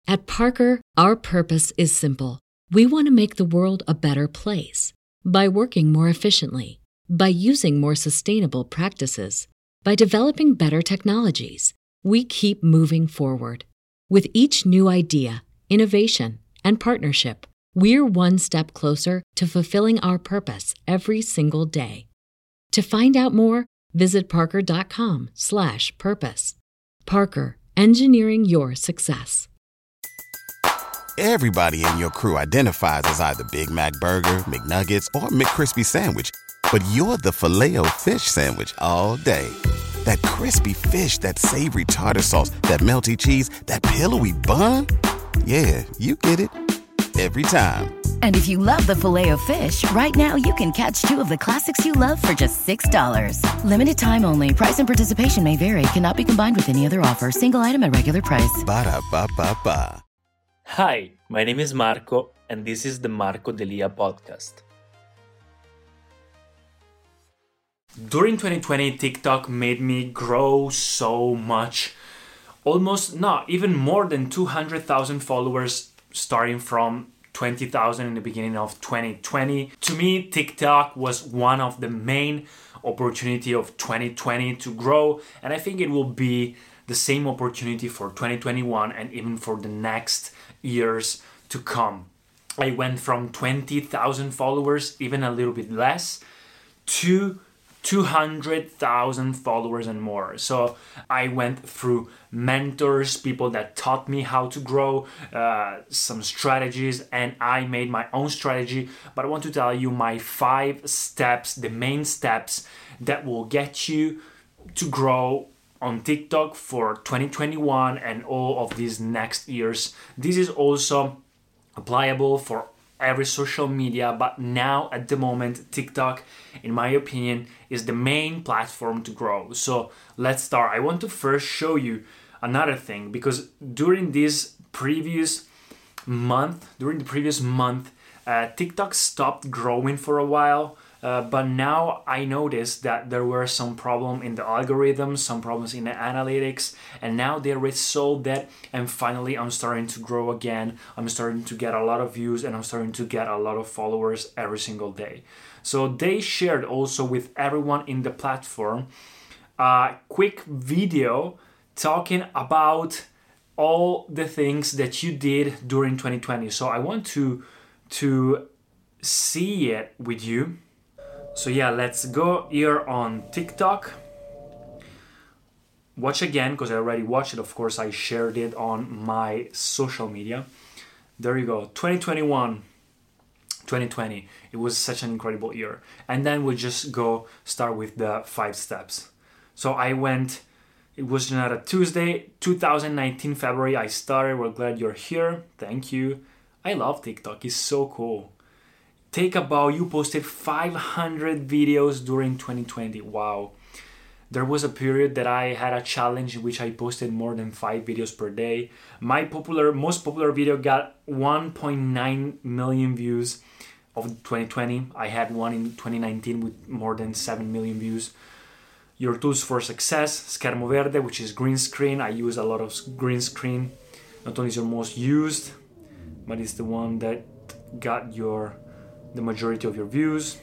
At Parker, our purpose is simple. We want to make the world a better place by working more efficiently, by using more sustainable practices, by developing better technologies. We keep moving forward. With each new idea, innovation, and partnership, we're one step closer to fulfilling our purpose every single day. To find out more, visit parker.com/purpose. Parker, engineering your success. Everybody in your crew identifies as either Big Mac Burger, McNuggets, or McCrispy Sandwich. But you're the Filet-O-Fish Sandwich all day. That crispy fish, that savory tartar sauce, that melty cheese, that pillowy bun. Yeah, you get it. Every time. And if you love the Filet-O-Fish, right now you can catch two of the classics you love for just $6. Limited time only. Price and participation may vary. Cannot be combined with any other offer. Single item at regular price. Ba-da-ba-ba-ba. Hi, my name is Marco, and this is the Marco Delia podcast. During 2020, TikTok made me grow so much. Even more than 200,000 followers starting from 20,000 in the beginning of 2020. To me, TikTok was one of the main opportunity of 2020 to grow, and I think it will be the same opportunity for 2021 and even for the next years to come. I went from 20,000 followers, even a little bit less, to 200,000 followers and more. So I went through mentors, people that taught me how to grow, some strategies, and I made my own strategy. But I want to tell you my 5 steps, the main steps that will get you to grow on TikTok for 2021 and all of these next years. This is also applicable for every social media, but now at the moment, TikTok, in my opinion, is the main platform to grow. So let's start. I want to first show you another thing, because during the previous month, TikTok stopped growing for a while. But now I noticed that there were some problems in the algorithm, some problems in the analytics, and now they resolved that, and finally I'm starting to grow again. I'm starting to get a lot of views, and I'm starting to get a lot of followers every single day. So they shared also with everyone in the platform a quick video talking about all the things that you did during 2020. So I want to see it with you. So yeah, let's go here on TikTok. Watch again, because I already watched it. Of course, I shared it on my social media. There you go. 2020. It was such an incredible year. And then we'll just start with the 5 steps. So it was not a Tuesday, 2019 February. I started. We're glad you're here. Thank you. I love TikTok. It's so cool. You posted 500 videos during 2020. Wow. There was a period that I had a challenge in which I posted more than 5 videos per day. My most popular video got 1.9 million views of 2020. I had one in 2019 with more than 7 million views. Your tools for success, Schermo Verde, which is green screen. I use a lot of green screen. Not only is your most used, but it's the one that got the majority of your views.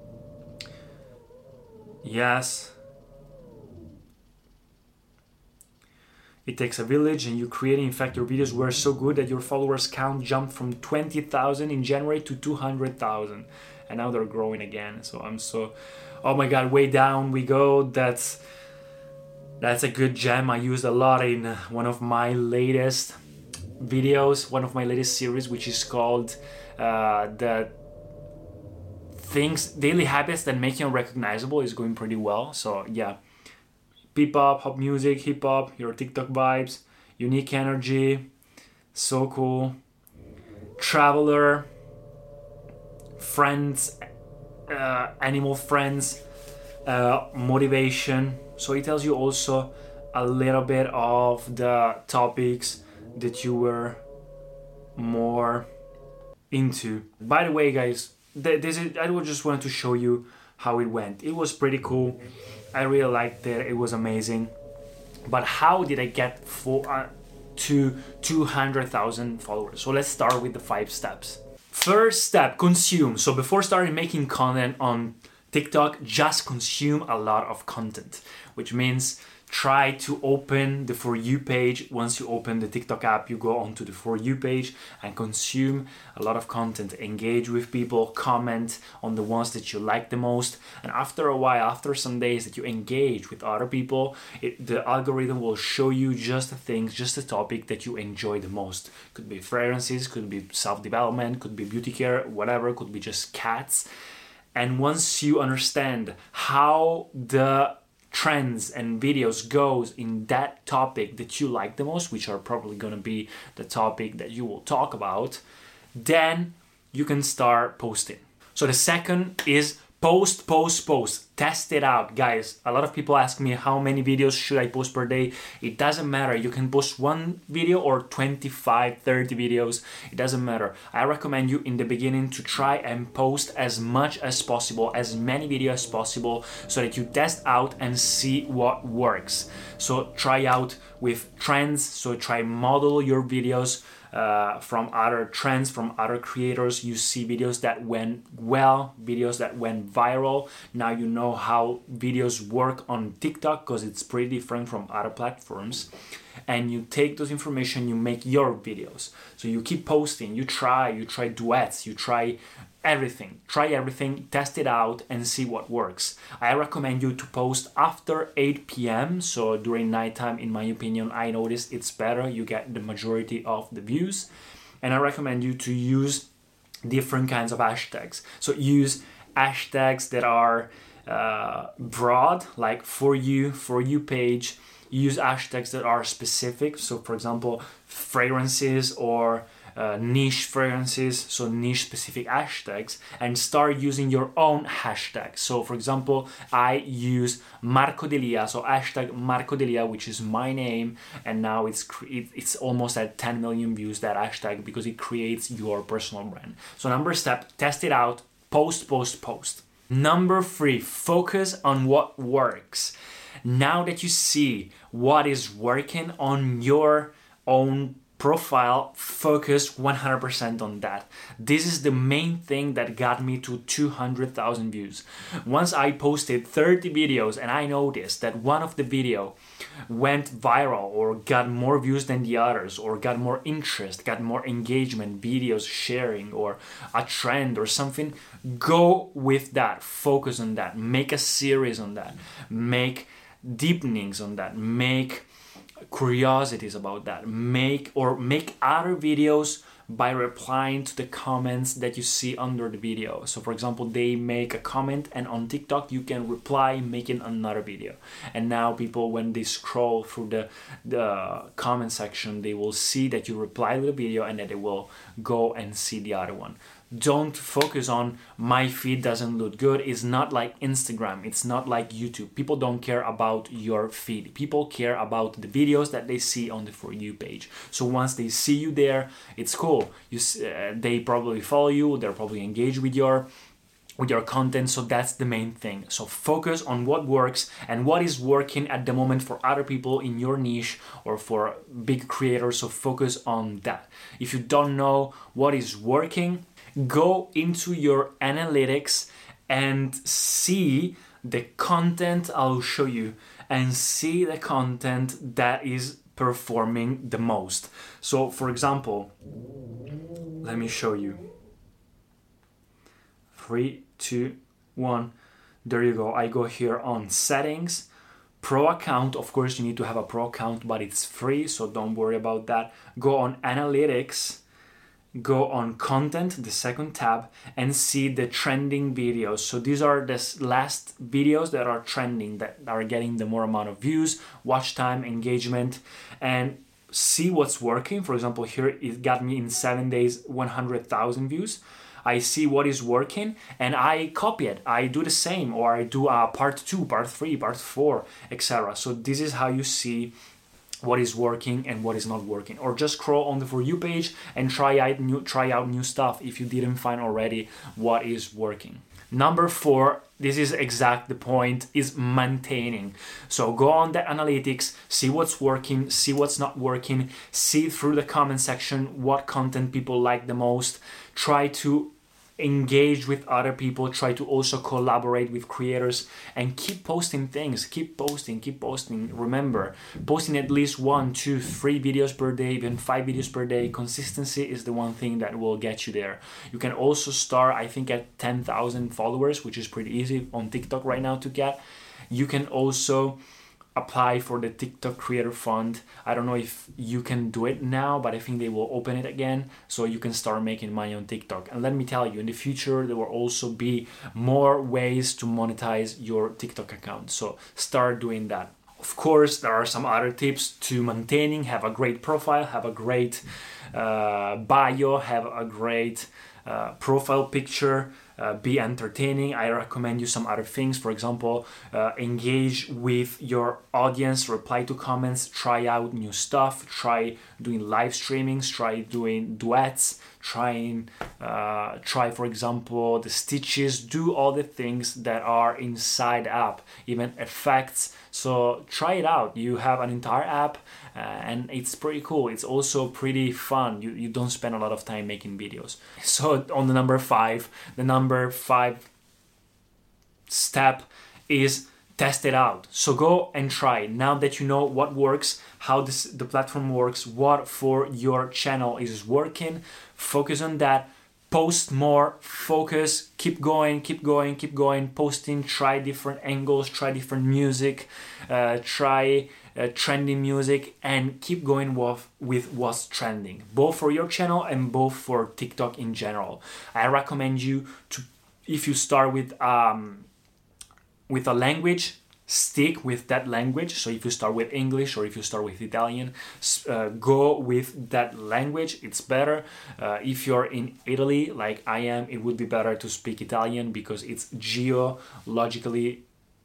Yes. It takes a village, and you creating. In fact, your videos were so good that your followers count jumped from 20,000 in January to 200,000. And now they're growing again. So oh my God, way down we go. That's a good gem. I used a lot in one of my latest videos, one of my latest series, which is called the daily habits that make you unrecognizable. Is going pretty well. So yeah, P-pop, pop music, hip-hop, your TikTok vibes, unique energy, so cool. Traveler, friends, animal friends, motivation. So it tells you also a little bit of the topics that you were more into. By the way, guys, I just wanted to show you how it went. It was pretty cool. I really liked it. It was amazing. But how did I get to 200,000 followers. So let's start with the 5 steps. First step, consume. So before starting making content on TikTok, just consume a lot of content, which means try to open the For You page. Once you open the TikTok app, you go onto the For You page and consume a lot of content. Engage with people, comment on the ones that you like the most. And after a while, after some days that you engage with other people, the algorithm will show you just the things, just the topic that you enjoy the most. Could be fragrances, could be self-development, could be beauty care, whatever, could be just cats. And once you understand how the trends and videos goes in that topic that you like the most, which are probably going to be the topic that you will talk about, then you can start posting. So the second is post. Test it out, guys. A lot of people ask me how many videos should I post per day. It doesn't matter. You can post 1 video or 25, 30 videos. It doesn't matter. I recommend you in the beginning to try and post as much as possible, as many videos as possible, so that you test out and see what works. So try out with trends. So try model your videos from other trends, from other creators. You see videos that went well, videos that went viral. Now you know how videos work on TikTok, because it's pretty different from other platforms. And you take those information, you make your videos. So you keep posting, you try duets, you try everything, test it out and see what works. I recommend you to post after 8 p.m. So during nighttime, in my opinion, I noticed it's better. You get the majority of the views. And I recommend you to use different kinds of hashtags. So use hashtags that are broad, like For You page. Use hashtags that are specific. So for example, fragrances or niche fragrances, so niche specific hashtags, and start using your own hashtags. So for example, I use Marco Delia, so hashtag Marco Delia, which is my name, and now it's almost at 10 million views, that hashtag, because it creates your personal brand. So number step, test it out, post. Number 3, focus on what works. Now that you see what is working on your own profile, focus 100% on that. This is the main thing that got me to 200,000 views. Once I posted 30 videos and I noticed that one of the video went viral or got more views than the others, or got more interest, got more engagement, videos sharing, or a trend or something, go with that, focus on that, make a series on that, make deepenings on that, make curiosities about that, make other videos by replying to the comments that you see under the video. So for example, they make a comment and on TikTok you can reply making another video, and now people, when they scroll through the comment section, they will see that you reply to the video and then they will go and see the other one. Don't focus on my feed doesn't look good. It's not like Instagram. It's not like YouTube. People don't care about your feed. People care about the videos that they see on the For You page. So once they see you there, it's cool. They probably follow you. They're probably engaged with your content. So that's the main thing. So focus on what works and what is working at the moment for other people in your niche or for big creators. So focus on that. If you don't know what is working, go into your analytics and see the content. I'll show you, and see the content that is performing the most. So for example, let me show you. 3, 2, 1. There you go. I go here on settings, pro account. Of course, you need to have a pro account, but it's free, so don't worry about that. Go on analytics, go on content, the second tab, and see the trending videos. So these are the last videos that are trending, that are getting the more amount of views, watch time, engagement, and see what's working. For example, here it got me in 7 days 100,000 views. I see what is working and I copy it. I do the same, or I do part 2, part 3, part 4, etc. So this is how you see what is working and what is not working. Or just scroll on the For You page and try out new stuff if you didn't find already what is working. Number 4, this is exact the point, is maintaining. So go on the analytics, see what's working, see what's not working, see through the comment section what content people like the most, try to engage with other people, try to also collaborate with creators, and keep posting things, keep posting. Remember, posting at least 1, 2, 3 videos per day, even 5 videos per day. Consistency is the one thing that will get you there. You can also start, I think, at 10,000 followers, which is pretty easy on TikTok right now to get. You can also apply for the TikTok Creator Fund. I don't know if you can do it now, but I think they will open it again, so you can start making money on TikTok. And let me tell you, in the future, there will also be more ways to monetize your TikTok account. So start doing that. Of course, there are some other tips to maintaining. Have a great profile, have a great bio, have a great profile picture, be entertaining. I recommend you some other things. For example, engage with your audience, reply to comments, try out new stuff, try doing live streamings, try doing duets, try for example the stitches, do all the things that are inside app, even effects. So try it out. You have an entire app and it's pretty cool. It's also pretty fun. You don't spend a lot of time making videos. So on the number 5 step is test it out. So go and try. Now that you know what works, how the platform works, what for your channel is working, focus on that. Post more, focus, keep going, posting, try different angles, try different music, try trending music, and keep going with what's trending, both for your channel and both for TikTok in general. I recommend you to, if you start with a language, stick with that language. So if you start with English or if you start with Italian, go with that language. It's better. If you're in Italy like I am, it would be better to speak Italian because it's geographically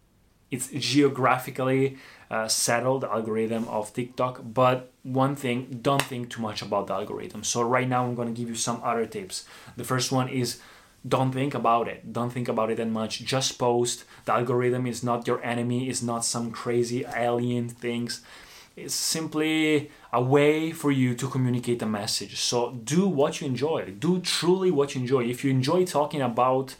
settled, the algorithm of TikTok. But one thing, don't think too much about the algorithm. So right now I'm going to give you some other tips. The first one is don't think about it. Don't think about it that much. Just post. The algorithm is not your enemy. It's not some crazy alien things. It's simply a way for you to communicate a message. So do what you enjoy. Do truly what you enjoy. If you enjoy talking about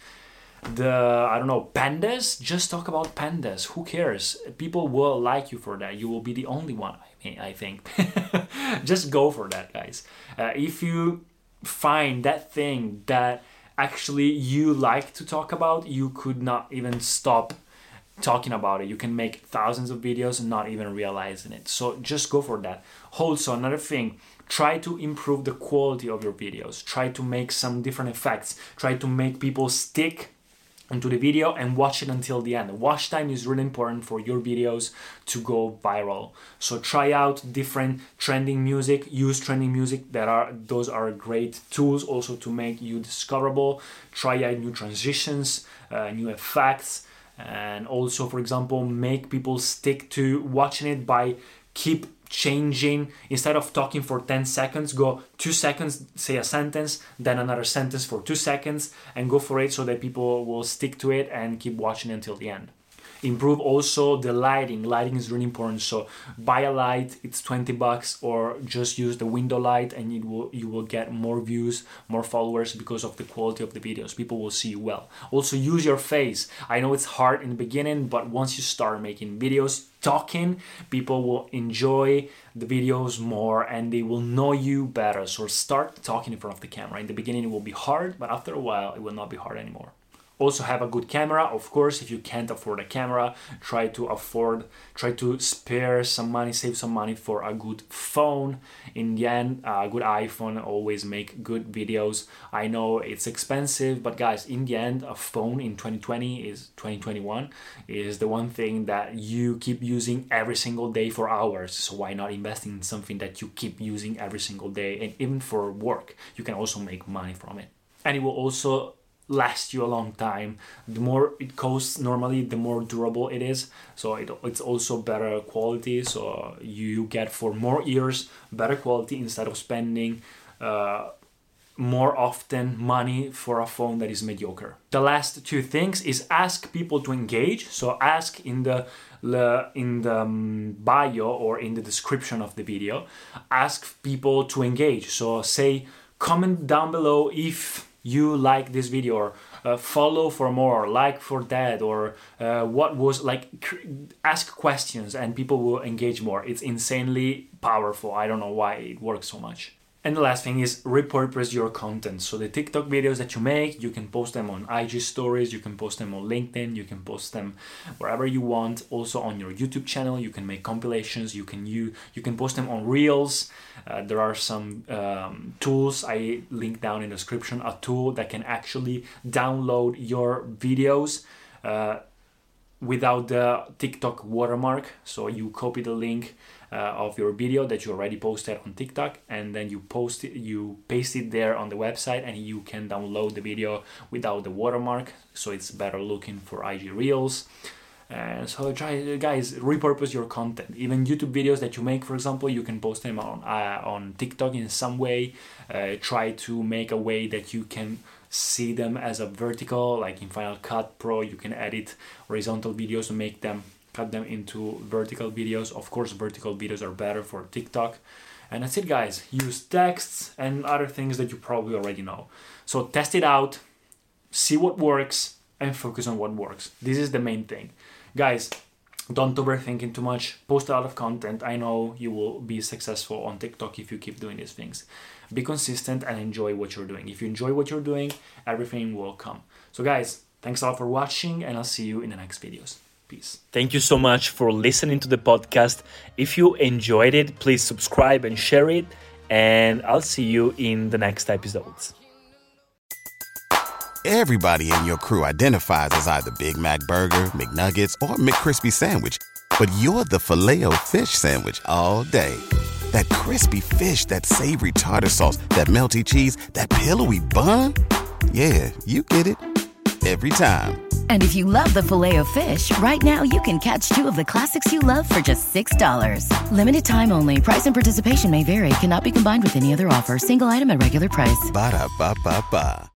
pandas, just talk about pandas. Who cares? People will like you for that. You will be the only one, I think. Just go for that, guys. If you find that thing that actually you like to talk about, you could not even stop talking about it. You can make thousands of videos and not even realizing it. So just go for that. Also, another thing, try to improve the quality of your videos. Try to make some different effects. Try to make people stick into the video and watch it until the end. Watch time is really important for your videos to go viral. So try out different trending music, use trending music. Those are great tools also to make you discoverable. Try out new transitions, new effects, and also, for example, make people stick to watching it by keep changing. Instead of talking for 10 seconds, go 2 seconds, say a sentence, then another sentence for 2 seconds, and go for it so that people will stick to it and keep watching until the end. Improve also the lighting. Lighting is really important. So buy a light, it's $20, or just use the window light and you will get more views, more followers because of the quality of the videos. People will see you well. Also use your face. I know it's hard in the beginning, but once you start making videos, talking, people will enjoy the videos more and they will know you better. So start talking in front of the camera. In the beginning it will be hard, but after a while it will not be hard anymore. Also have a good camera. Of course, if you can't afford a camera, try to spare some money, save some money for a good phone. In the end, a good iPhone always make good videos. I know it's expensive, but guys, in the end, a phone in 2021 is the one thing that you keep using every single day for hours. So why not invest in something that you keep using every single day? And even for work, you can also make money from it. And it will also last you a long time. The more it costs normally, the more durable it is. So it's also better quality. So you get for more years better quality instead of spending more often money for a phone that is mediocre. The last two things is ask people to engage. So ask in the bio or in the description of the video, ask people to engage. So say, comment down below if you like this video, or follow for more, or like for that, or what was like, ask questions and people will engage more. It's insanely powerful. I don't know why it works so much. And the last thing is repurpose your content. So the TikTok videos that you make, you can post them on IG stories, you can post them on LinkedIn, you can post them wherever you want. Also on your YouTube channel, you can make compilations, you can post them on Reels. There are some tools I link down in the description, a tool that can actually download your videos without the TikTok watermark. So you copy the link of your video that you already posted on TikTok, and then you paste it there on the website, and you can download the video without the watermark, so it's better looking for IG Reels. And so try, guys, repurpose your content. Even YouTube videos that you make, for example, you can post them on TikTok in some way. Try to make a way that you can see them as a vertical, like in Final Cut Pro. You can edit horizontal videos and cut them into vertical videos. Of course, vertical videos are better for TikTok. And that's it, guys. Use texts and other things that you probably already know. So test it out, see what works, and focus on what works. This is the main thing. Guys, don't overthink it too much. Post a lot of content. I know you will be successful on TikTok if you keep doing these things. Be consistent and enjoy what you're doing. If you enjoy what you're doing, everything will come. So guys, thanks a lot for watching, and I'll see you in the next videos. Peace. Thank you so much for listening to the podcast. If you enjoyed it, please subscribe and share it, and I'll see you in the next episodes. Everybody in your crew identifies as either Big Mac Burger, McNuggets, or McCrispy Sandwich. But you're the Filet-O-Fish Sandwich all day. That crispy fish, that savory tartar sauce, that melty cheese, that pillowy bun. Yeah, you get it. Every time. And if you love the Filet-O-Fish, right now you can catch 2 of the classics you love for just $6. Limited time only. Price and participation may vary. Cannot be combined with any other offer. Single item at regular price. Ba-da-ba-ba-ba.